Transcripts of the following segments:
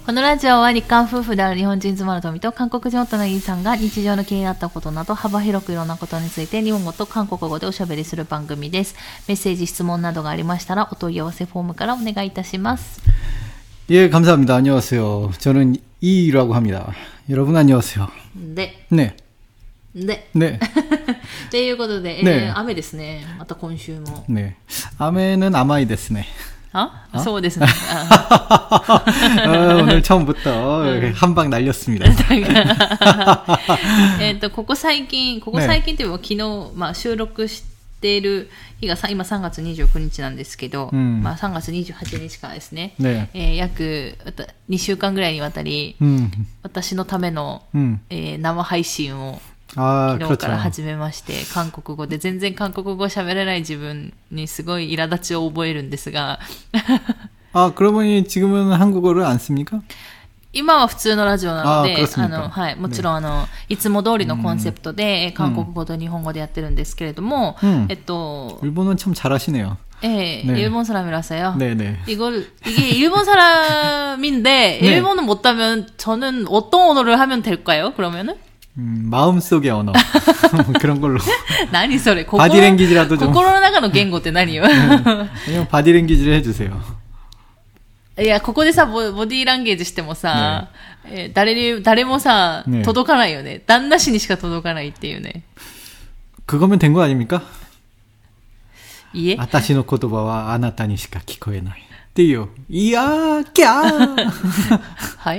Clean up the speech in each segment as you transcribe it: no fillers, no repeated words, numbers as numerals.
このラジオは日韓夫婦である日本人妻の富と韓国人夫のイーさんが日常の気になったことなど幅広くいろんなことについて日本語と韓国語でおしゃべりする番組です。メッセージ、質問などがありましたらお問い合わせフォームからお願いいたします。 예, 감사합니다. 안녕하세요. 저는 이라고 합니다. 여러분 안녕하세요. 네. 네. 네. 네. ということで、 ね雨ですね。また今週も。 네.雨는甘いですね. そうですね。 오늘 처음부터 한 방 날렸습니다. ここ最近というか昨日、週録している日が今3月29日なんですけど、3月28日からですね、約2週間ぐらいにわたり、私のための、生配信を昨日から始めまして、韓国語で全然韓国語を喋れない自分にすごい苛立ちを覚えるんですが 그러고 보니 지금은 한국어를 안 씁니까? 今は普通のラジオなので、もちろんいつも通りのコンセプトで、韓国語と日本語でやってるんですけれども、 일본어는 참 잘하시네요. 네. 일본 사람이라서요. 네네. 이게 일본 사람인데, 네. 일본어 못하면 저는 어떤 언어를 하면 될까요? 그러면은? 마음속의 언어. 그런 걸로. 何それ? 바디랭귀지라도 좀. 心の中の言語って何よ? 그냥 바디랭귀지를 해주세요. いや、ここでさ、ボディーランゲージしてもさ、誰もさ、届かないよね。旦那氏にしか届かないっていうね。 그거면 된 거 아닙니까? いえ。 私の言葉はあなたにしか聞こえない。っていう。いやー、キャーはい。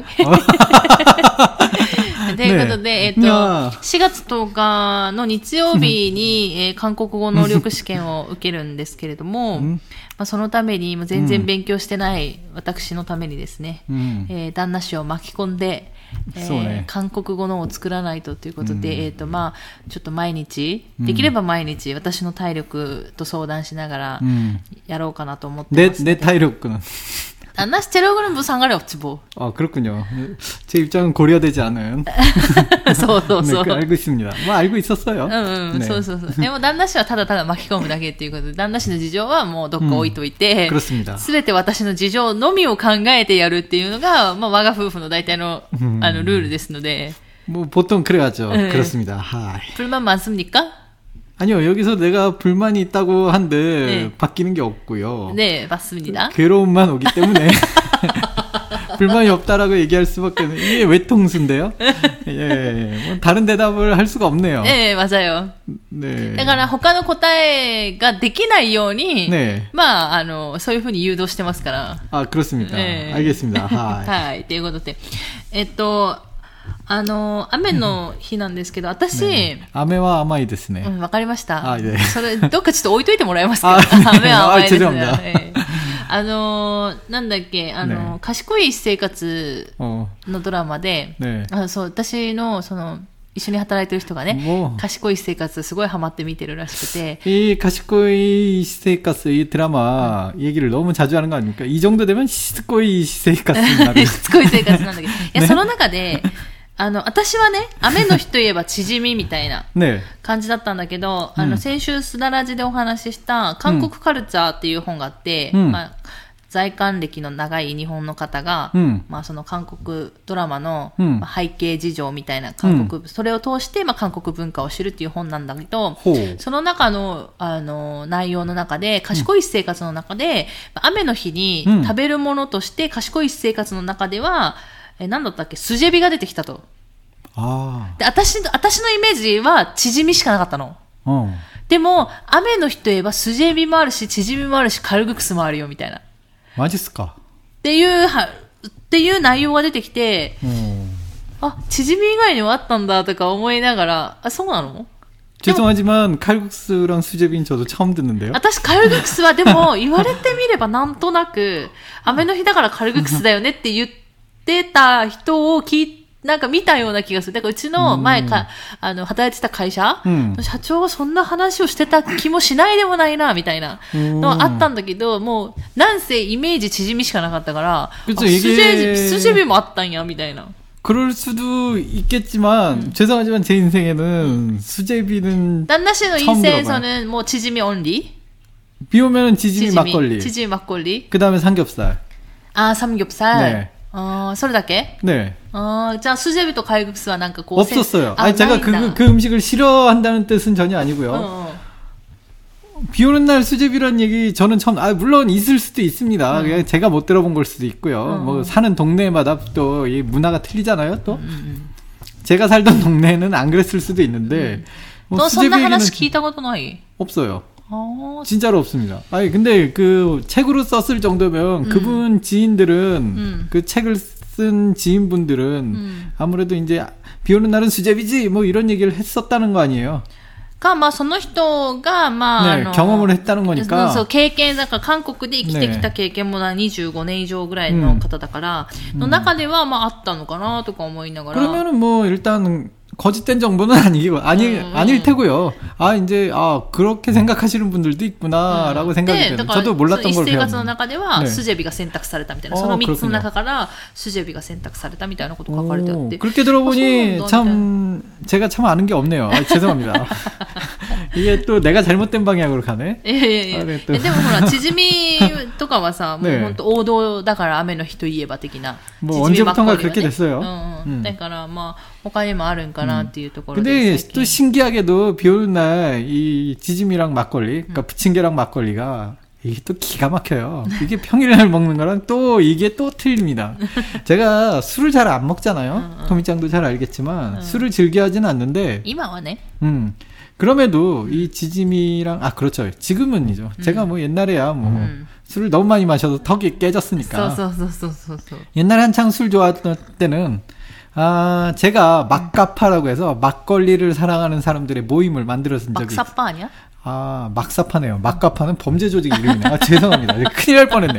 ということで、4月10日の日曜日に、韓国語能力試験を受けるんですけれども、そのために全然勉強してない私のためにですね、旦那氏を巻き込んで、韓国語のを作らないとということで、ちょっと毎日、できれば毎日私の体力と相談しながらやろうかなと思ってます。 내体力는 안나씨 체력은 뭐 상관이 없지 뭐. 그렇군요. 제 입장은 고려되지 않은. そう。 네, 알고 있습니다. 알고 있었어요. 네. そう。でも旦那氏はただただ巻き込むだけっていうことで、旦那氏の事情はもうどっか置いといて、すべて私の事情のみを考えてやるっていうのが、我が夫婦の大体のルールですので。 보통 그래야죠. 그렇습니다. 불만 많습니까? 아니요, 여기서 내가 불만이 있다고 한들 바뀌는 게 없고요. 네, 맞습니다. 괴로움만 오기 때문에 불만이 없다라고 얘기할 수밖에 없는 이게 외통수인데요. 다른 대답을 할 수가 없네요. 네, 맞아요. 네. だから他の答えができないように、そういうふうに誘導してますから。 그렇습니다. 알겠습니다. はい、ということで、雨の日なんですけど、私、 雨は甘いですね。 わかりました。 ね、 それ、どっかちょっと置いといてもらえますか？雨は甘いですね。なんだっけ、賢い生活のドラマで、私の、一緒に働いてる人がね、賢い生活すごいハマって見てるらしくて。 이賢い生活이 드라마 얘기를 너무 자주 하는 거 아닙니까? 이 정도 되면 시스코이生活になる。 しつこい生活なんだけど。いや、その中で、私はね、雨の日といえば縮みみたいな感じだったんだけど、先週すだらじでお話しした韓国カルチャーっていう本があって、在韓歴の長い日本の方が、その韓国ドラマの、背景事情みたいなそれを通して、韓国文化を知るっていう本なんだけど、その中の、内容の中で、賢い生活の中で、雨の日に食べるものとして賢い生活の中では、何だったっけ、スジェビが出てきたと。で、私のイメージは縮みしかなかったの。でも、雨の日といえばスジェビもあるし、縮みもあるし、カルグクスもあるよみたいな。 マジっすか？ っていう内容が出てきて、縮み以外にもあったんだとか思いながら、そうなの？ 죄송하지만 칼국수랑 수제비는 저도 처음 듣는데요. 私カルグクスはでも言われてみればなんとなく雨の日だからカルグクスだよねって言ってた人をなんか見たような気がする。だからうちの前働いてた会社の社長がそんな話をしてた気もしないでもないな、みたいなのはあったんだけど、もう、なんせイメージ縮みしかなかったから、スジェビもあったんや、みたいな。 그럴 수도 있겠지만 죄송하지만 제 인생에는 수제비는 旦那氏の인생에서는 뭐 지짐이 only? 비 오면 지짐이 막걸리. 지짐이 막걸리. 그다음에 삼겹살. 아, 삼겹살. 네. それだけ? 네. 자, 수제비도 칼국수와 뭔가 없었어요. 아니, 제가 그 음식을 싫어한다는 뜻은 전혀 아니고요. 비 오는 날 수제비란 얘기 저는 처음, 물론 있을 수도 있습니다. 그냥 제가 못 들어본 걸 수도 있고요. 뭐, 사는 동네마다 또 이 문화가 틀리잖아요, 또. 제가 살던 동네는 안 그랬을 수도 있는데. 너 선나 하나씩聞いたことない? 없어요. 진짜로 없습니다. 아니, 근데 그 책으로 썼을 정도면 그분 지인들은, 그 책을 쓴 지인분들은 아무래도 이제 비 오는 날은 수제비지 뭐 이런 얘기를 했었다는 거 아니에요. その人が、 경험을 했다는 거니까. そう、経験だから、韓国で生きてきた経験も25年以上ぐらいの方だから、の中では、あったのかなとか思いながら。 그러면은 뭐, 일단, 거짓된 정보는 아닐 테고요. 이제, 그렇게 생각하시는 분들도 있구나, 라고 생각이 돼요. 저도 몰랐던 걸 배웠는데. 生活の中では、スジェビが選択されたみたいな。その3つの中から、スジェビが選択されたみたいなこと書かれてあって。 그렇게 들어보니, 제가 참 아는 게 없네요. 죄송합니다. 이게 또 내가 잘못된 방향으로 가네. 예. でもほら、チヂミとかはさ、もう本当王道だから雨の日といえば的な。 뭐 언제부턴가 그렇게 됐어요. だから他にもあるんかなっていうところ 근데 또 신기하게도 비 오는 날 이 지짐이랑 막걸리, 그러니까 부침개랑 막걸리가 이게 또 기가 막혀요. 이게 평일날 먹는 거랑 또 이게 또 틀립니다. 제가 술을 잘 안 먹잖아요. 토미짱도 잘 알겠지만 술을 즐겨 하지는 않는데. 今はね. 그럼에도 이 지짐이랑 그렇죠. 지금은이죠. 제가 뭐 옛날에야 뭐 술을 너무 많이 마셔서 턱이 깨졌으니까. 옛날에 한창 술 좋아했던 때는 제가 막가파라고 해서 막걸리를 사랑하는 사람들의 모임을 만들었은 적이 있어요. 막사파 아니야? 막사파네요. 막가파는 범죄 조직 이름이네요. 죄송합니다. 큰일 날 뻔했네요.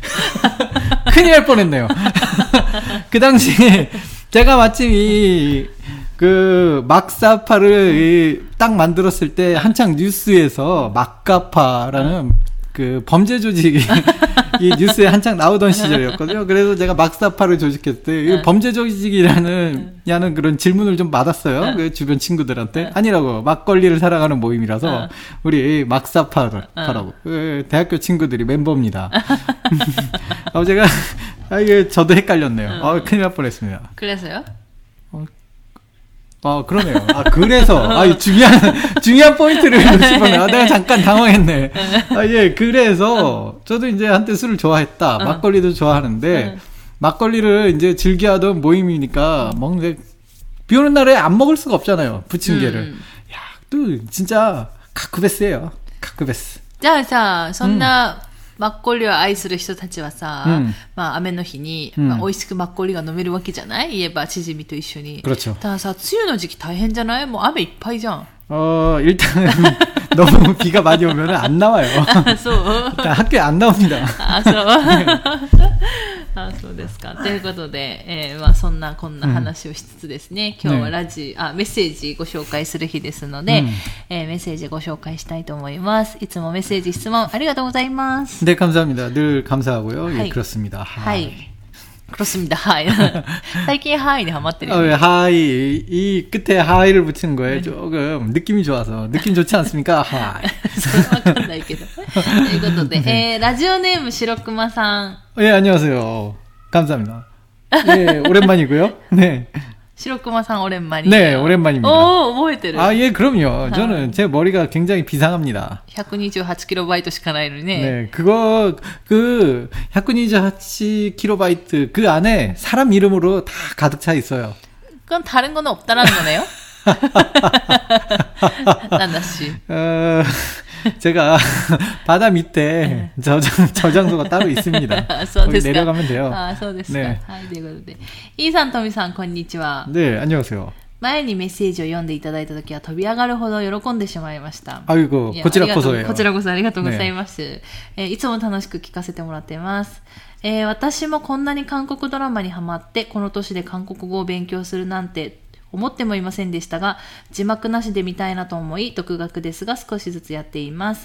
큰일 날 뻔했네요. 그 당시에 제가 마침 그 막사파를 딱 만들었을 때 한창 뉴스에서 막가파라는 그 범죄 조직이 이 뉴스에 한창 나오던 시절이었거든요. 그래서 제가 막사파를 조직했을 때 범죄 조직이라는 그런 질문을 좀 받았어요. 그 주변 친구들한테. 아니라고. 막걸리를 사랑하는 모임이라서 우리 막사파라고. 대학교 친구들이 멤버입니다. 제가 이게 저도 헷갈렸네요. 큰일 날 뻔했습니다. 그래서요? 그러네요. 그래서, 중요한 포인트를 놓치면, 내가 잠깐 당황했네. 예, 그래서, 저도 이제 한때 술을 좋아했다. 막걸리도 좋아하는데, 막걸리를 이제 즐겨하던 모임이니까, 비 오는 날에 안 먹을 수가 없잖아요. 부침개를. 또, 진짜, 가쿠베스예요. 가쿠베스. 자, そんな、マッコリを愛する人たちはさ、雨の日に、美味しくマッコリが飲めるわけじゃない？言えば、チヂミと一緒に。 그렇죠. だからさ、梅雨の時期大変じゃない？もう雨いっぱいじゃん。 일단은 너무 비가 많이 오면 안 나와요. 학교에 안 나옵니다. そうですか。ということで、そんなこんな話をしつつですね、今日はメッセージご紹介する日ですので、メッセージご紹介したいと思います。いつもメッセージ質問ありがとうございます。 네, 감사합니다. 늘 감사하고요. 예, 그렇습니다. はい。 그렇습니다. 하이. 最近ハイにハマってる。 하이. 이 끝에 하이를 붙이는 거에 조금 느낌이 좋아서. 느낌 좋지 않습니까? 하이. それわかんないけど。ということで、ラジオネーム白熊さん。 예, 안녕하세요. 감사합니다. 예, 오랜만이고요. 네. 白熊さん 오랜만이에요. 네, 오랜만입니다. 오, 覚えてる. 예, 그럼요. 저는 제 머리가 굉장히 비상합니다. 128kBしかないのにね. 네, 128kB 그 안에 사람 이름으로 다 가득 차 있어요. 그건 다른 거는 없다라는 거네요? 난다씨. 제가 바다 밑에 저장소가 따로 있습니다. 거기 내려가면 돼요. そうですか. 네. はい、ということで。イーさん、トミさん、こんにちは。 네, 안녕하세요. 前にメッセージを読んでいただいたときは飛び上がるほど喜んでしまいました。 아이고, こちらこそよ。 こちらこそありがとうございます。いつも楽しく聞かせてもらっています。私もこんなに韓国ドラマにハマって、この年で韓国語を勉強するなんて、思ってもいませんでしたが、字幕なしで見たいなと思い、独学ですが少しずつやっています。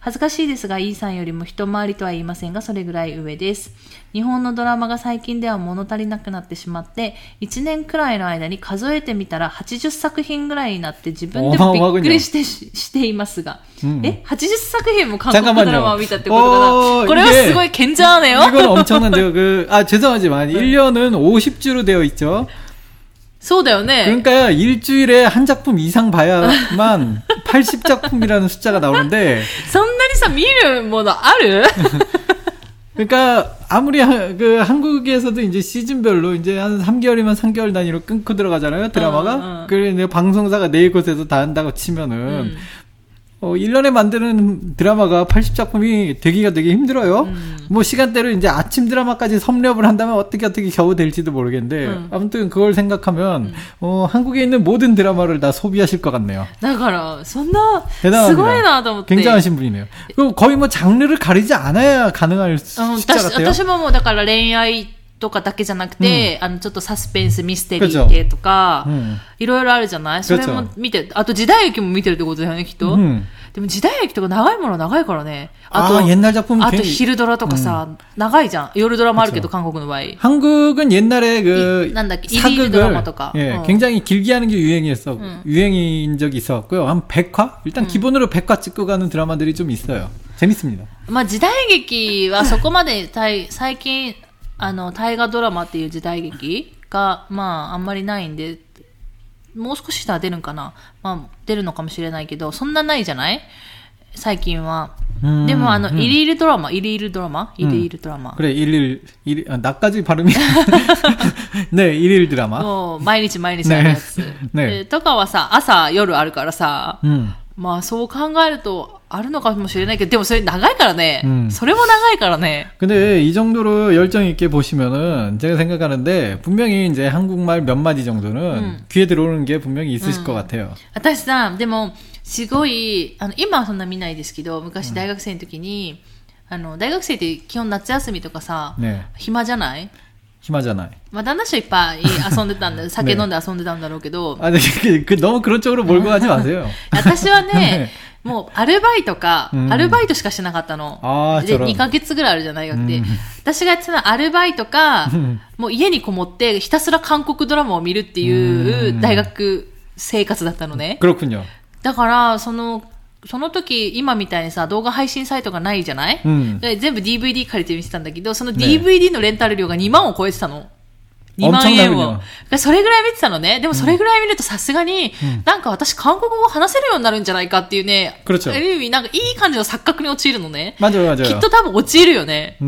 恥ずかしいですが、イーさんよりも一回りとは言いませんが、それぐらい上です。日本のドラマが最近では物足りなくなってしまって、1年くらいの間に数えてみたら80作品ぐらいになって自分でもびっくりしていますが、80作品も韓国ドラマを見たってことかな。これはすごい괜찮네요. 이건 엄청난데요. 죄송하지만 1년은 50주로 되어 있죠. そうだよね. 그러니까 일주일에 한 작품 이상 봐야만 80작품이라는 숫자가 나오는데. そんなにさ見るものある? 그러니까 아무리 한국에서도 이제 시즌별로 이제 한 3개월이면 3개월 단위로 끊고 들어가잖아요, 드라마가. 그래 내가 방송사가 네 곳에서 다 한다고 치면은 1년에 만드는 드라마가 80작품이 되기가 되게 힘들어요. 뭐 시간대로 이제 아침 드라마까지 섭렵을 한다면 어떻게 겨우 될지도 모르겠는데 아무튼 그걸 생각하면 한국에 있는 모든 드라마를 다 소비하실 것 같네요. だからそんなすごいなと思って 굉장하신 분이네요. 그리고 거의 뭐 장르를 가리지 않아야 가능할 숫자 같아요. 私ももうだから恋愛とかだけじゃなくて、ちょっとサスペンスミステリー系とか、いろいろあるじゃない？それも見て、あと時代劇も見てるってことだよね、きっと。でも時代劇とか長いもの長いからね。あと昼ドラとかさ、長いじゃん。夜ドラもあるけど、韓国の場合。 한국은 옛날에 なんだっけ、일일ドラマとか。 굉장히 길게 하는 게 유행인 적이 있었고요. 한 100화? 일단 기본으로 100화 찍고 가는 드라마들이 좀 있어요. 재밌습니다. まあ時代劇はそこまで最近、大河ドラマっていう時代劇が、まあ、あんまりないんで、もう少ししたら出るんかな。まあ、出るのかもしれないけど、そんなないじゃない最近は。でも、일일ドラマ。 그래, 나까지 발음이. 네, 일일 드라마. もう、毎日あるやつ。ね。とかはさ、朝、夜あるからさ、まあ、そう考えると、あるのかもしれないけど、でもそれ長いからね。それも長いからね。 근데 이 정도로 열정 있게 보시면은 제가 생각하는데 분명히 이제 한국말 몇 마디 정도는 귀에 들어오는 게 분명히 있으실 것 같아요. 私さ、でもすごい今はそんな見ないですけど、昔大学生の時に大学生って基本夏休みとかさ、暇じゃない？ 暇じゃない. まあ旦那氏はいっぱい遊んでたんだ酒飲んで遊んでたんだろうけど 너무 그런 쪽으로 몰고 가지 마세요. 私はねもうアルバイトしかしなかったの。で2ヶ月ぐらいあるじゃないかって。私がやってたのはアルバイトか、もう家にこもってひたすら韓国ドラマを見るっていう大学生活だったのね。 그렇군요. だからその時今みたいにさ動画配信サイトがないじゃない？で全部 DVD 借りて見てたんだけど、その DVD のレンタル料が2万を超えてたの。2万円を。それぐらい見てたのね。でもそれぐらい見るとさすがに、なんか私韓国語を話せるようになるんじゃないかっていうね。 그렇죠。 ある意味なんかいい感じの錯覚に陥るのね。 맞아요。 きっと多分陥るよね。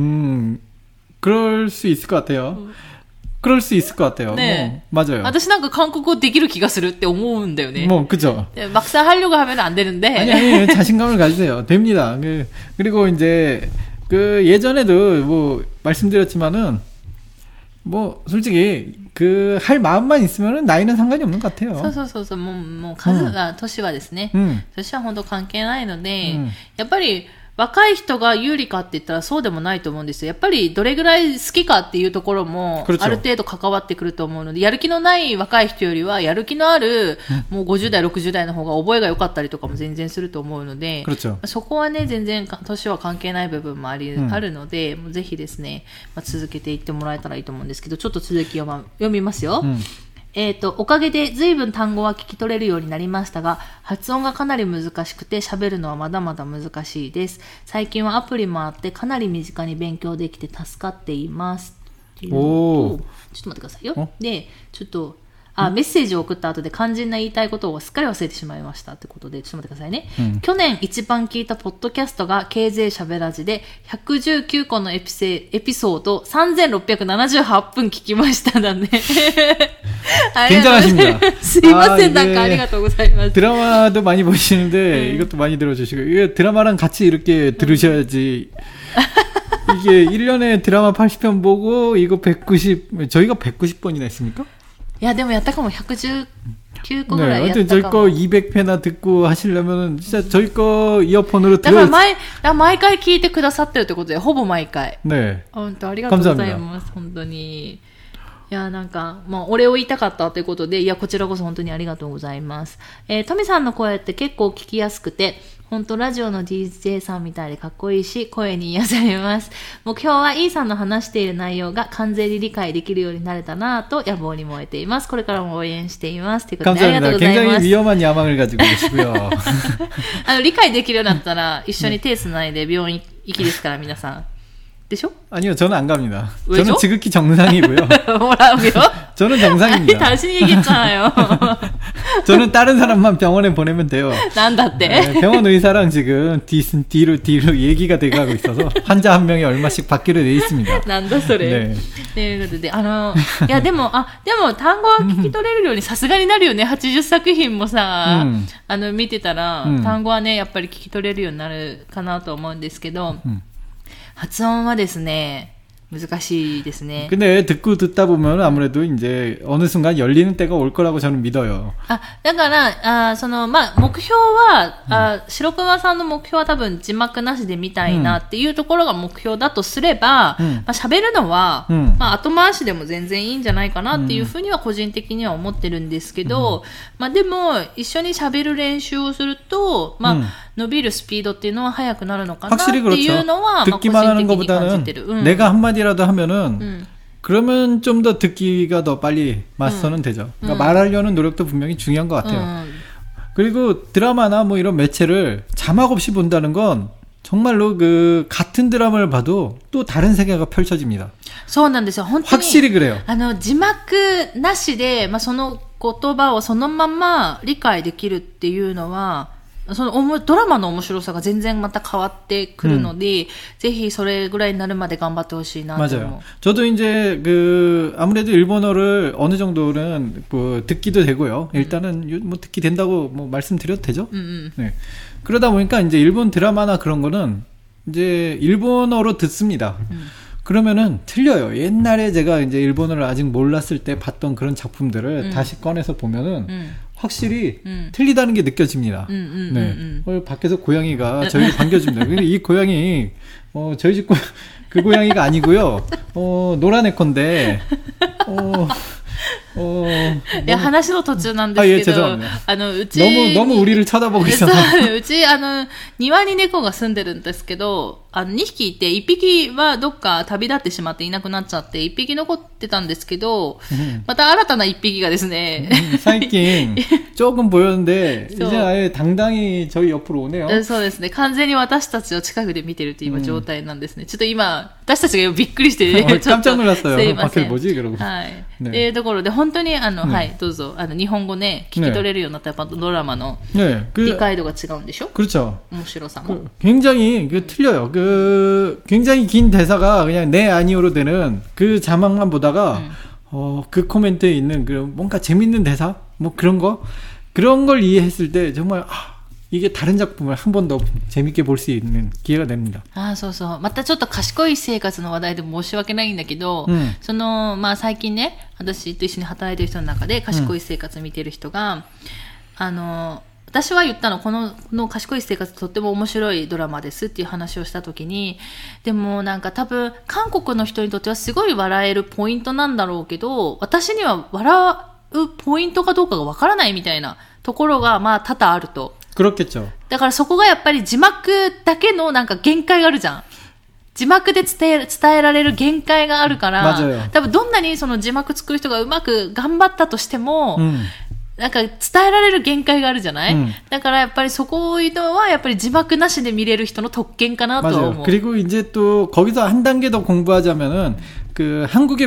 그럴 수 있을 것 같아요。그럴 수 있을 것 같아요. 네. 맞아요. 私なんか韓国語できる気がするって思うんだよね. 그죠. 막상 하려고 하면 안 되는데. 아니, 자신감을 가지세요. 됩니다. 그리고 이제, 예전에도 뭐, 말씀드렸지만은, 뭐, 솔직히, 할 마음만 있으면은 나이는 상관이 없는 것 같아요. そう。もう数が、年はですね。年は本当関係ないので、やっぱり、若い人が有利かって言ったらそうでもないと思うんですよ。やっぱりどれぐらい好きかっていうところもある程度関わってくると思うので、やる気のない若い人よりはやる気のあるもう50代、60代の方が覚えが良かったりとかも全然すると思うので、そこはね、全然年は関係ない部分もあるので、もうぜひですね、続けていってもらえたらいいと思うんですけど、ちょっと続きを読みますよ。おかげで随分単語は聞き取れるようになりましたが、発音がかなり難しくて喋るのはまだまだ難しいです。最近はアプリもあってかなり身近に勉強できて助かっています。っていうのと、ちょっと待ってくださいよ。で、ちょっと、メッセージを送った後で肝心な言いたいことをすっかり忘れてしまいましたってことで、ちょっと待ってくださいね。去年一番聞いたポッドキャストが KJ しゃべらじで119個のエピソード3678分聞きましただね。 괜찮으십니다. すいません、なんかありがとうございます。 드라마도 많이 보시는데 이것도 많이 들어주시고, 이게 드라마랑 같이 이렇게 들으셔야지. 이게 1년에 드라마 80편 보고 이거 저희가 190번이나 했습니까? いやでもやったかも119個ぐらいやったかも。 저희 거 200회나 듣고 하시려면 진짜 저희 거 이어폰으로 들어요. だから毎回聞いてくださってるってことで、ほぼ毎回。 ね。 本当ありがとうございます。本当に。 いや、なんか、もう、お礼を言いたかったということで、いや、こちらこそ本当にありがとうございます。トミさんの声って結構聞きやすくて、本当ラジオの DJ さんみたいでかっこいいし、声に癒されます。目標は E さんの話している内容が完全に理解できるようになれたなぁと野望に燃えています。これからも応援しています。ということでありがとうございます。 굉장히 위험한 야망을 가지고 계시고요. 理解できるようになったら一緒に手つないで病院行きですから皆さん。でしょ? 아니요, 저는 안 갑니다. 저는 지극히 정상이고요. 뭐라고요? 저는 정상입니다. 아니, 당신이 얘기했잖아요. 저는 다른 사람만 병원에 보내면 돼요. 난다って. 네, 병원 의사랑 지금 뒤로 얘기가 돼가고 있어서 환자 한 명이 얼마씩 받기로 돼 있습니다. 난다 소리. 네. ということで、いやでも単語は聞き取れるようにさすがになるよね。80作品もさ、見てたら、単語はねやっぱり聞き取れるようになるかなと思うんですけど。発音はですね、難しいですね。 근데 듣다 보면 아무래도 이제 어느 순간 열리는 때가 올 거라고 저는 믿어요. だから、目標は、白熊さんの目標は多分字幕なしで見たいなっていうところが目標だとすれば、喋るのは、後回しでも全然いいんじゃないかなっていうふうには個人的には思ってるんですけど、でも、一緒に喋る練習をすると、伸びるスピードっていうのは速くなるのかなっていうのは、 듣기만 하는 것보다는 내가 한마디라도 하면은 그러면 좀 더 듣기가 더 빨리 맞서는 되죠. 그러니까 말하려는 노력도 분명히 중요한 것 같아요. 그리고 드라마나 뭐 이런 매체를 자막 없이 본다는 건 정말로 그 같은 드라마를 봐도 또 다른 세계가 펼쳐집니다. そうなんですよ。本当に 확실히 그래요. 字幕なしで、その言葉をそのまま理解できるっていうのはそのドラマの面白さが全然また変わってくるので、ぜひそれぐらいになるまで頑張ってほしいなと思う。 맞아요. 저도 이제 아무래도 일본어를 어느 정도는 듣기도 되고요. 일단은 뭐 듣기 된다고 뭐 말씀드려도 되죠? 네. 그러다 보니까 이제 일본 드라마나 그런 거는 이제 일본어로 듣습니다. 그러면은 틀려요. 옛날에 제가 이제 일본어를 아직 몰랐을 때 봤던 그런 작품들을 다시 꺼내서 보면은 확실히 틀리다는 게 느껴집니다. 네. 밖에서 고양이가 저희를 반겨줍니다. 근데 이 고양이 저희 집 그 고양이가 아니고요. 노란 애콘데 いや、話の途中なんですけど、うち、 너무 우리를 쳐다보고 있어서。 うち、庭に猫が住んでるんですけど、2匹いて、1匹はどっか旅立ってしまっていなくなっちゃって、1匹残ってたんですけど、また新たな1匹がですね、 最近、조금 보였는데、이제 아예 당당히 저희 옆으로 오네요。 そうですね。完全に私たちを近くで見てるという今状態なんですね。ちょっと今、私たちがびっくりして、 깜짝 놀랐어요。 すいません。 뭐지? 그러고。 はい。っていうところで、本当にはい、どうぞ。日本語ね、聞き取れるようになったやっぱドラマの理解度が違うんでしょ? 그렇죠. 面白さも. 굉장히 틀려요. 굉장히 긴 대사가 그냥 네 아니오로 되는 그 자막만 보다가 그 코멘트에 있는 뭔가 재밌는 대사 뭐 그런 걸 이해했을 때 정말 이게 다른 작품을 한 번 더 재밌게 볼 수 있는 기회가 됩니다. そうそう。またちょっと賢い生活の話題で申し訳ないんだけど、最近ね、私と一緒に働いてる人の中で賢い生活見てる人が、私は言ったの、この賢い生活とっても面白いドラマですっていう話をしたときに、でもなんか多分韓国の人にとってはすごい笑えるポイントなんだろうけど、私には笑うポイントかどうかがわからないみたいなところが多々あると。 그렇겠죠. だからそこがやっぱり字幕だけのなんか限界があるじゃん。字幕で伝えられる限界があるから、多分どんなにその字幕作る人がうまく頑張ったとしても、なんか伝えられる限界があるじゃない、だからやっぱりそこいうのはやっぱり字幕なしで見れる人の特権かなと思う。 그리고 이제 또 거기서 한 단계 더 공부하자면은 한국의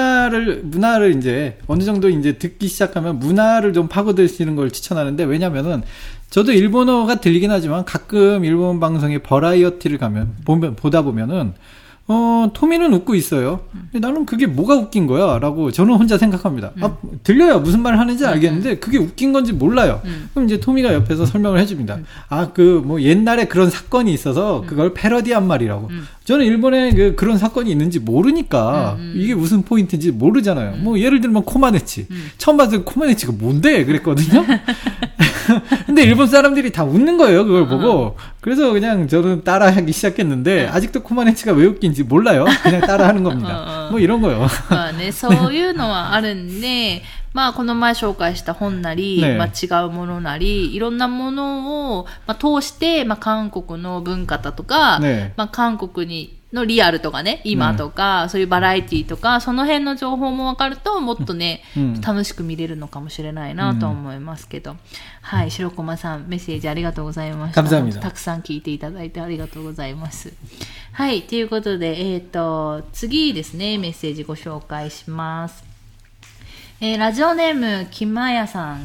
문화를 이제 어느 정도 이제 듣기 시작하면 문화를 좀 파고드시는 걸 추천하는데, 왜냐면은 저도 일본어가 들리긴 하지만 가끔 일본 방송의 버라이어티를 보다 보면은 토미는 웃고 있어요. 근데 나는 그게 뭐가 웃긴 거야? 라고 저는 혼자 생각합니다. 들려요. 무슨 말을 하는지 알겠는데 그게 웃긴 건지 몰라요. 그럼 이제 토미가 옆에서 설명을 해줍니다. 옛날에 그런 사건이 있어서 그걸 패러디한 말이라고. 저는 일본에 그런 사건이 있는지 모르니까 이게 무슨 포인트인지 모르잖아요. 뭐 예를 들면 코마네치. 처음 봤을 때 코마네치가 뭔데? 그랬거든요. 근데 일본 사람들이 다 웃는 거예요. 그걸 보고. 그래서 그냥 저는 따라하기 시작했는데 아직도 코마네치가 왜 웃긴지 몰라요. 그냥 따라하는 겁니다. 뭐 이런 거요. まあね、そういうのはあるんで、まあこの前紹介した本なり、 ね、 まあ違うものなり、いろんなものを、まあ、通して、まあ韓国の文化だとか、ね、まあ韓国にのリアルとかね、今とか、そういうバラエティとか、その辺の情報も分かると、もっとね、楽しく見れるのかもしれないなと思いますけど。はい、白駒さん、メッセージありがとうございました。たくさん聞いていただいてありがとうございます。はい、ということで、次ですね、メッセージご紹介します。ラジオネーム、김아야さん。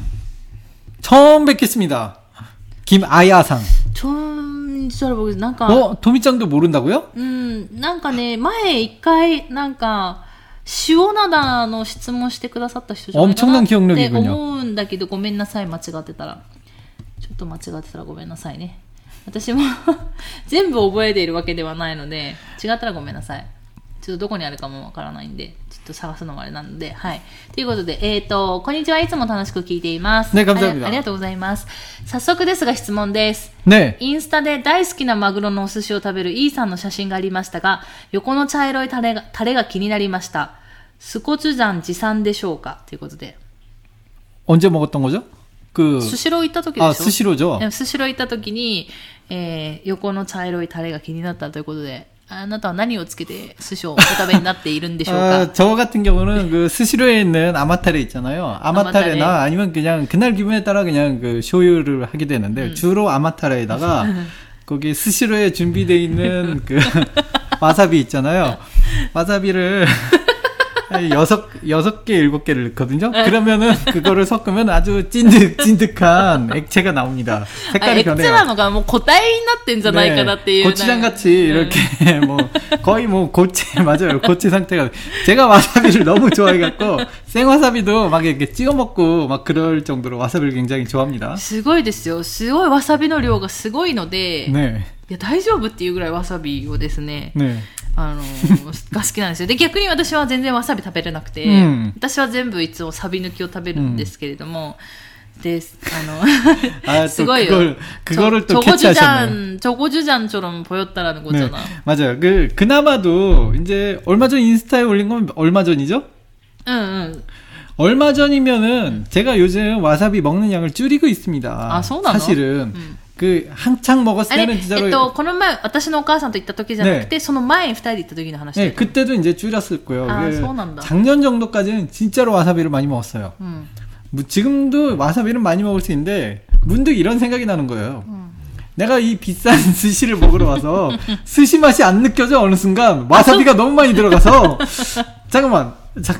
처음뵙겠습니다。김아야さん。 잘 모르겠어요. なんか、 도미짱도 모른다고요? なんかね、前一回、なんか、塩灘の質問してくださった人じゃないかなって思うんだけど、ごめんなさい、間違ってたら。ちょっと間違ってたらごめんなさいね。私も全部覚えているわけではないので、違ったらごめんなさい。ちょっとどこにあるかもわからないんで、ちょっと探すのもあれなので、はい。ということで、こんにちは。いつも楽しく聞いています。 ね、감사합니다。 ありがとうございます。早速ですが質問です。 ね。 インスタで大好きなマグロのお寿司を食べるイーさんの写真がありましたが、横の茶色いタレが気になりました。スコチュジャン持参でしょうかということで。 언제 먹었던 거죠? スシロー行った時でしょ？ スシロー죠。 スシロー行った時に、横の茶色いタレが気になったということで、あなたは何をつけて寿司をお食べになっているんでしょうか? 저 같은 경우는 그 스시로에 있는 아마타레 있잖아요. 아마타레나 아니면 그냥 그날 기분에 따라 그냥 그 쇼유를 하게 되는데 주로 아마타레에다가 거기 스시로에 준비되어 있는 그 와사비 있잖아요. 와사비를 6개, 7개를 넣거든요. 그러면은 그거를 섞으면 아주 찐득한 액체가 나옵니다. 색깔이 변해요. 액체라는 뭐 고타에 나ってんじゃないかなっていう. 고추장 같이 이렇게 뭐 거의 뭐 고체 맞아요. 고체 상태가. 제가 와사비를 너무 좋아해갖고 생와사비도 막 이렇게 찍어 먹고 막 그럴 정도로 와사비를 굉장히 좋아합니다. すごいですよ。すごいわさびの量がすごいので、 ね、 いや大丈夫っていうぐらいわさびをですね。 ね。 が好きなんですよ。で、逆に私は全然わさび食べれなくて、私は全部いつもサビ抜きを食べるんですけれども、で、すごいよ。 그거를 또 캐치하셨네요. 저고주잔처럼 보였다라는 거잖아. 네, 맞아요. 그나마도 이제 얼마 전 인스타에 올린 건 얼마 전이죠? 응. 얼마 전이면은 제가 요즘 와사비 먹는 양을 줄이고 있습니다. 아, 사실은. 그 한창 먹었을 때는 진짜로 この前私のお母さんと行った時じゃなくて、その前に2人で行った時の話。 네, 그때도 이제 줄였었고요. 아, 작년 정도까지는 진짜로 와사비를 많이 먹었어요. 뭐 지금도 와사비를 많이 먹을 수 있는데 문득 이런 생각이 나는 거예요. 내가 이 비싼 스시를 먹으러 와서 스시 맛이 안 느껴져 어느 순간 와사비가 너무 많이 들어가서 잠깐만.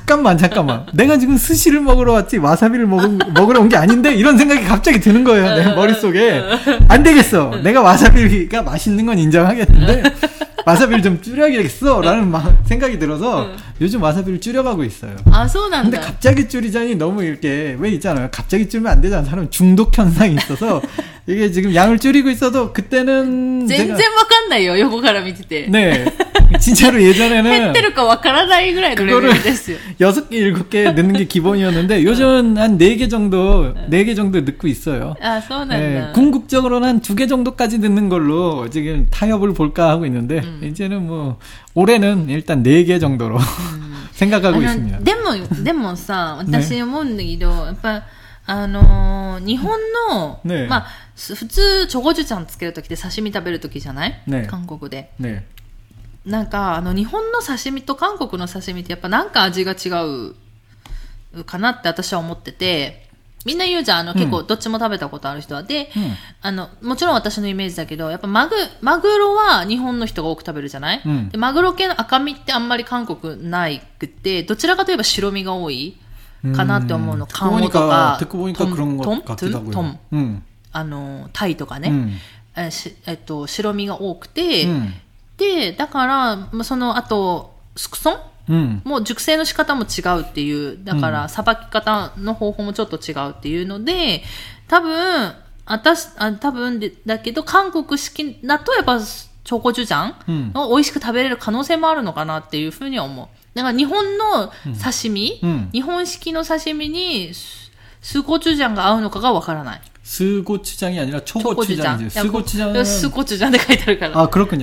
내가 지금 스시를 먹으러 왔지 와사비를 먹으러 온 게 아닌데 이런 생각이 갑자기 드는 거예요. 내 머릿속에. 안 되겠어. 내가 와사비가 맛있는 건 인정하겠는데 와사비를 좀 줄여야겠어 라는 생각이 들어서 요즘 와사비를 줄여가고 있어요. 아, 소난다. 근데 갑자기 줄이자니 너무 이렇게 왜 있잖아요. 갑자기 줄이면 안 되잖아. 사람 중독 현상이 있어서 이게 지금 양을 줄이고 있어도 그때는 全然わかんないよ横から見てて. 네. 진짜로 예전에는 減ってるかわからないぐらいのレベルですよ. 6개, 7개 넣는 게 기본이었는데 요즘은 한 4개 정도 넣고 있어요. 아, 소난다. 네, 궁극적으로는 한 2개 정도까지 넣는 걸로 지금 타협을 볼까 하고 있는데 이제는 뭐 올해는 일단 4개 정도로 생각하고 있습니다. でもさ、私思うんだけど、やっぱ日本の、 ね、 まあ普通チョコジュちゃんつけるときって刺身食べるときじゃない？ ね、 韓国で。 ね、 なんか日本の刺身と韓国の刺身ってやっぱなんか味が違うかなって私は思ってて、みんな言うじゃん、結構どっちも食べたことある人は。で、もちろん私のイメージだけど、やっぱマグロは日本の人が多く食べるじゃない？でマグロ系の赤身ってあんまり韓国ないくて、どちらかといえば白身が多いかなって思うの。韓国とか、トン、タイとかね、白身が多くて、で、だから、あと、スクソン、もう熟成の仕方も違うっていう、だから、さばき方の方法もちょっと違うっていうので、多分だけど、韓国式だとやっぱ、チョコジュジャンを美味しく食べれる可能性もあるのかなっていうふうには思う。だから日本の刺身、日本式の刺身にスコチュジャンが合うのかがわからない。 스고추장이 아니라 초고추장이지. 스고추장은 스고추장で書いてあるから。 아, 그렇군요.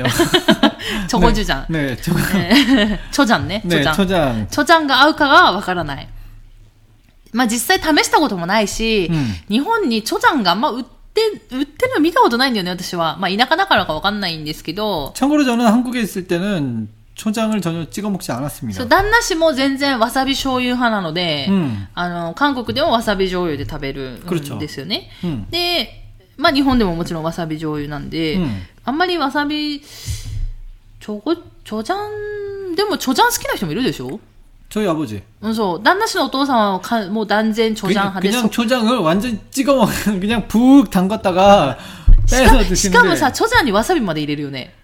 초고추장. 네, 초장ね. 네, 초장. 초장が合うかがわからない。まあ実際試したこともないし、日本に초장があんま売ってるの見たことないんだよね、私は。まあ田舎だからかわかんないんですけど。 참고로 저는 한국에 있을 때는 초장을 전혀 찍어 먹지 않았습니다. そう、旦那氏も全然わさび醤油派なので、韓国でもわさび醤油で食べるんですよね。で、まあ日本でももちろんわさび醤油なんで、あんまりわさび、초장、でも초장好きな人もいるでしょ? 저희 아버지. そう、旦那氏のお父さんはもう断然초장派で。 그냥 초장을 완전 찍어 먹는, 그냥 푹 담갔다가 빼서 드시는데. しかもさ、초장にわさびまで入れるよね。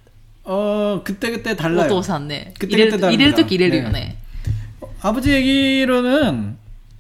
그때 달라요. お父さんね。入れるとき入れるよね。 아버지 얘기로는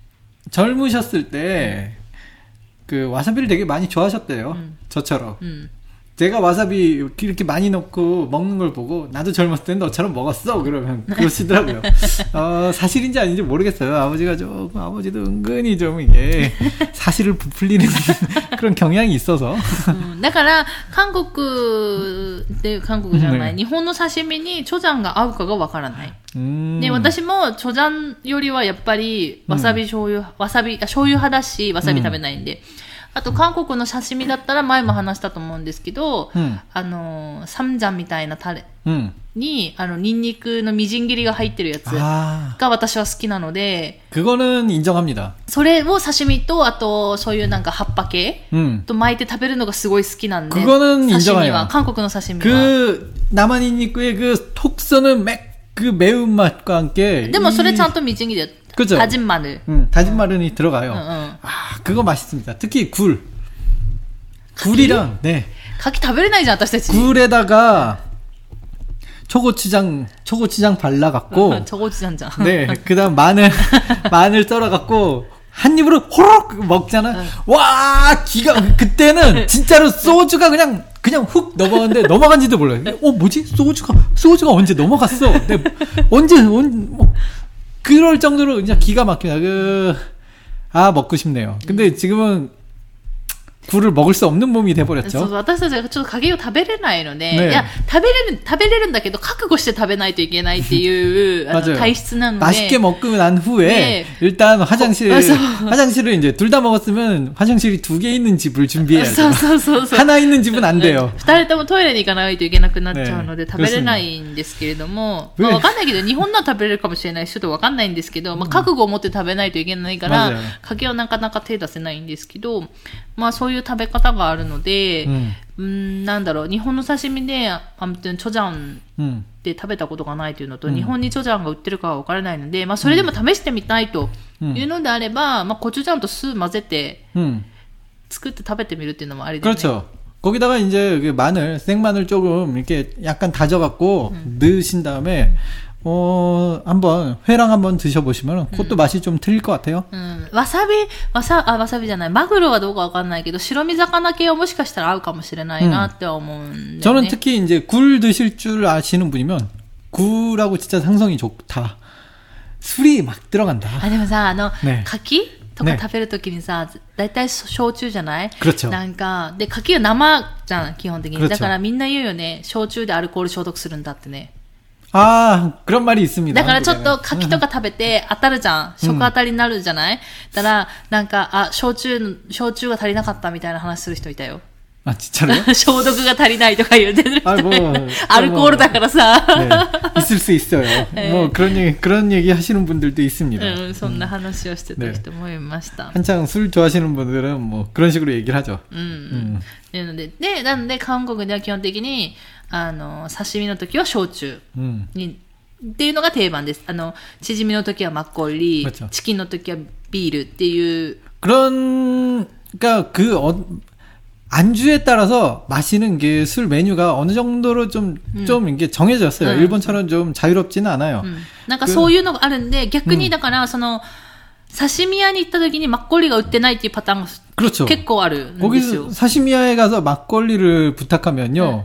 젊으셨을 때 그 와사비를 되게 많이 좋아하셨대요. 저처럼. 제가 와사비 이렇게 많이 넣고 먹는 걸 보고 나도 젊었을 땐 너처럼 먹었어. 그러면 그러시더라고요. 사실인지 아닌지 모르겠어요. 아버지가 조금 아버지도 은근히 좀 이게 사실을 부풀리는 그런 경향이 있어서. だから韓国じゃない、日本の刺身にチョジャンが合うかがわからない。で、私もチョジャンよりはやっぱりわさび醤油派だし、わさび食べないんで。あと韓国の刺身だったら前も話したと思うんですけど、サムジャンみたいなタレに、ニンニクのみじん切りが入ってるやつが私は好きなので、 그거는 인정합니다. それを刺身と、あとそういうなんか葉っぱ系と巻いて食べるのがすごい好きなんで、 그거는 刺身 인정해요. は、韓国の刺身は。 그 남한 닌니크의 그 톡 쏘는 그 매운맛과 함께. でもそれちゃんとみじん切りで。 그죠? 다진 마늘. 다진 마늘이 들어가요. 그거 맛있습니다. 특히 굴. 굴이랑, 네. 가기 食べれないじゃん、私たち. 굴에다가 초고추장 발라갖고. 초고추장장. 네. 그 다음 마늘 썰어갖고 한 입으로 호록 먹잖아. 와, 그때는 진짜로 소주가 그냥 훅 넘어갔는데 넘어간지도 몰라요. 뭐지? 소주가 언제 넘어갔어? 네, 언제, 그럴 정도로 진짜 기가 막히다. 먹고 싶네요. 근데 지금은 굴을 먹을 수 없는 몸이 돼버렸죠. そう、私たちがちょっと影を食べれないので、いや、食べれるんだけど、覚悟して食べないといけないっていう体質なので。 맛있게 먹고 난 후에, 일단 화장실을 이제 둘 다 먹었으면 화장실이 2개 있는 집을 준비해야죠. 하나 있는 집은 안 돼요. 2人ともトイレに行かないといけなくなっちゃうので、食べれないんですけれども、わかんないけど、日本のは食べれるかもしれないし、ちょっとわかんないんですけど、覚悟を持って食べないといけないから、影をなかなか手出せないんですけど、そういう食べ方があるので、なんだろう、日本の刺身で、아무튼チョジャンで食べたことがないというのと、日本にチョジャンが売ってるかはわからないので、それでも試してみたいというのであれば、コチュジャンと酢混ぜて、作って食べてみるっていうのもありですね。 그렇죠. 거기다가 이제 생마늘 조금 이렇게 약간 다져갖고 넣으신 다음에, 한번 회랑 한번 드셔보시면 그것도 맛이 좀 틀릴 것 같아요. わさびじゃない。マグロはどうかわかんないけど、白身魚系はもしかしたら合うかもしれないなって思うんだよね。 저는 특히 이제 굴 드실 줄 아시는 분이면 굴하고 진짜 상성이 좋다. 술이 막 들어간다. でもさ、牡蠣とか食べるときにさ、だいたい焼酎じゃない? 그렇죠. なんか、で、牡蠣は生じゃん、基本的に。だからみんな言うよね、焼酎でアルコール消毒するんだってね。 그런 말이 있습니다. だからちょっと牡蠣とか食べて当たるじゃん。食当たりになるじゃない？だから、なんか、焼酎が足りなかったみたいな話する人いたよ。 진짜로요? 消毒が足りないとか言ってる人。アルコールだからさ。 있을 수 있어요. 그런 얘기 하시는 분들도 있습니다. そんな話をしてた人もいました。 한창 술 좋아하시는 분들은 그런 식으로 얘기를 하죠. なんで韓国では基本的に、刺身の時は焼酎に、っていうのが定番です。チヂミの時はマッコリ、チキンの時はビールっていう。 그러니까 안주에 따라서 마시는 게 술 메뉴가 어느 정도로 좀 이게 정해졌어요. 일본처럼 좀 자유롭지는 않아요. なんかそういうのがあるんで、逆にだから、刺身屋に行った時にマッコリが売ってないっていうパターンが 그렇죠. 結構あるんですよ。 거기 사시미야에 가서 막걸리를 부탁하면요.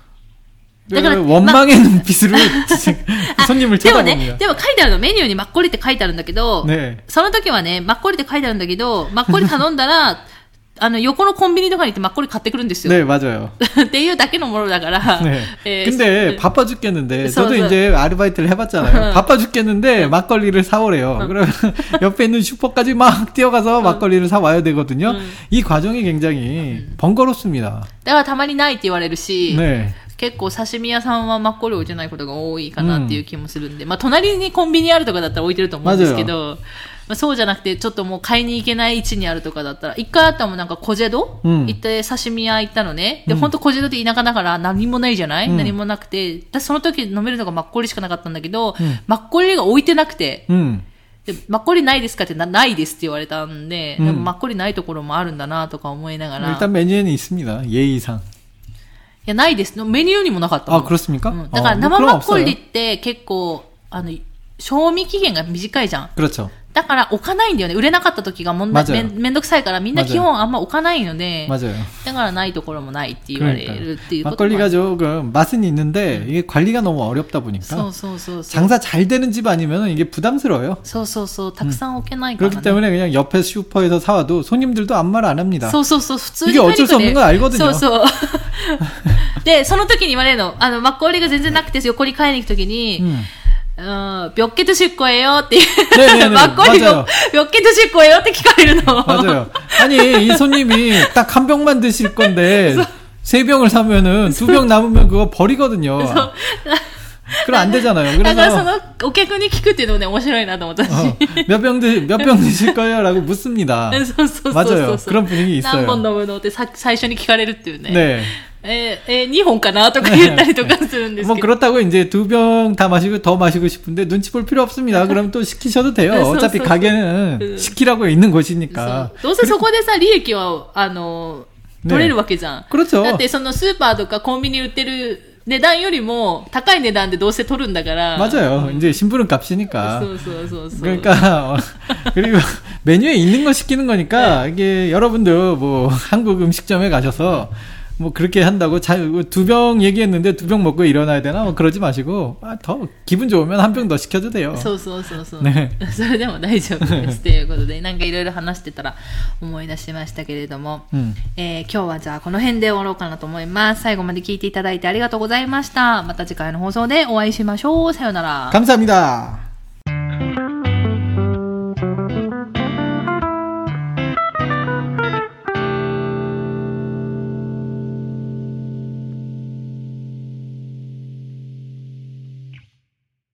원망의 눈빛으로 손님을 쳐다봅니다. でも書いてあるの、メニューにマッコリって書いてあるんだけど、その時はね、マッコリって書いてあるんだけど、マッコリ頼んだら、 横のコンビニとかに行ってマッコリ買ってくるんですよ。 네 맞아요. っていうだけのものだから。 네. 근데 바빠 죽겠는데 저도 이제 아르바이트를 해봤잖아요. 바빠 죽겠는데 막걸리를 사오래요. 그러면 옆에 있는 슈퍼까지 막 뛰어가서 막걸리를 사와야 되거든요. 이 과정이 굉장히 번거롭습니다. だからたまにないって言われるし、 네. 結構刺身屋さんはマッコリ置いてないことが多いかなっていう気もするんで、まあ隣にコンビニあるとかだったら置いてると思うんですけど、まあ、そうじゃなくてちょっともう買いに行けない位置にあるとかだったら、一回あったもんなんかコジェド、行って刺身屋行ったのね。で、ほんとコジェドって田舎だから何もないじゃない、何もなくて、私その時飲めるのがマッコリしかなかったんだけど、マッコリが置いてなくて、でマッコリないですかってないですって言われたんで、でもマッコリないところもあるんだなとか思いながら。 일단 메뉴에는 있습니다. 예의상. いや、ないです。メニューにもなかったの。 あ、그렇습니까? だから生マッコリって結構、賞味期限が短いじゃん。 그렇죠. だから置かないんだよね。売れなかった時がめんどくさいからみんな基本あんま置かないので。 맞아요. だからないところもないって言われるっていうことも。 막걸리가 조금 맛은 있는데 이게 관리가 너무 어렵다 보니까. 장사 잘 되는 집 아니면 이게 부담스러워요. そうそうそう。たくさん置けないからね。 그렇기 때문에 그냥 옆에 슈퍼에서 사와도 손님들도 아무 말 안 합니다. そうそうそう。普通に 이게 어쩔 수 없는 거 알거든요. そうそう。で、その時に言われるの。マッコリが全然なくて横に買いに行く時に、몇 개 드실 거예요? って막걸리 몇 개 드실 거예요? って聞かれるの. 맞아요. 아니, 이 손님이 딱 한 병만 드실 건데, 3병을 사면은 2병 남으면 그거 버리거든요. 그럼 안 되잖아요. 그래서 お客に聞くっていうのもね、面白いなと思ったし。 몇 병 드실 거예요? 라고 묻습니다. 맞아요. 그런 분위기 있어요. 何本飲むのって最初に聞かれるっていうね。 네. 2本かなとか言ったりとかするんですけど。 뭐 그렇다고 이제 2병 다 마시고 더 마시고 싶은데 눈치 볼 필요 없습니다. 그럼 또 시키셔도 돼요. 어차피 가게는 시키라고 있는 곳이니까. どうせそこでさ、利益は取れるわけじゃん。 그렇죠. だってそのスーパーとかコンビニ売ってる値段よりも高い値段でどうせ取るんだから。 맞아요. 이제 심부름 값이니까. そう。 그러니까 그리고 메뉴에 있는 거 시키는 거니까 이게 여러분들 뭐 한국 음식점에 가셔서 뭐 그렇게 한다고 2병 얘기했는데 2병 먹고 일어나야 되나? 뭐 그러지 마시고 더 기분 좋으면 한 병 더 시켜도 돼요. そう。ね。それでも大丈夫ですということで、なんかいろいろ話してたら思い出しましたけれども、今日はじゃあこの辺で終わろうかなと思います。最後まで聞いていただいてありがとうございました。また次回の放送でお会いしましょう。さようなら。 감사합니다.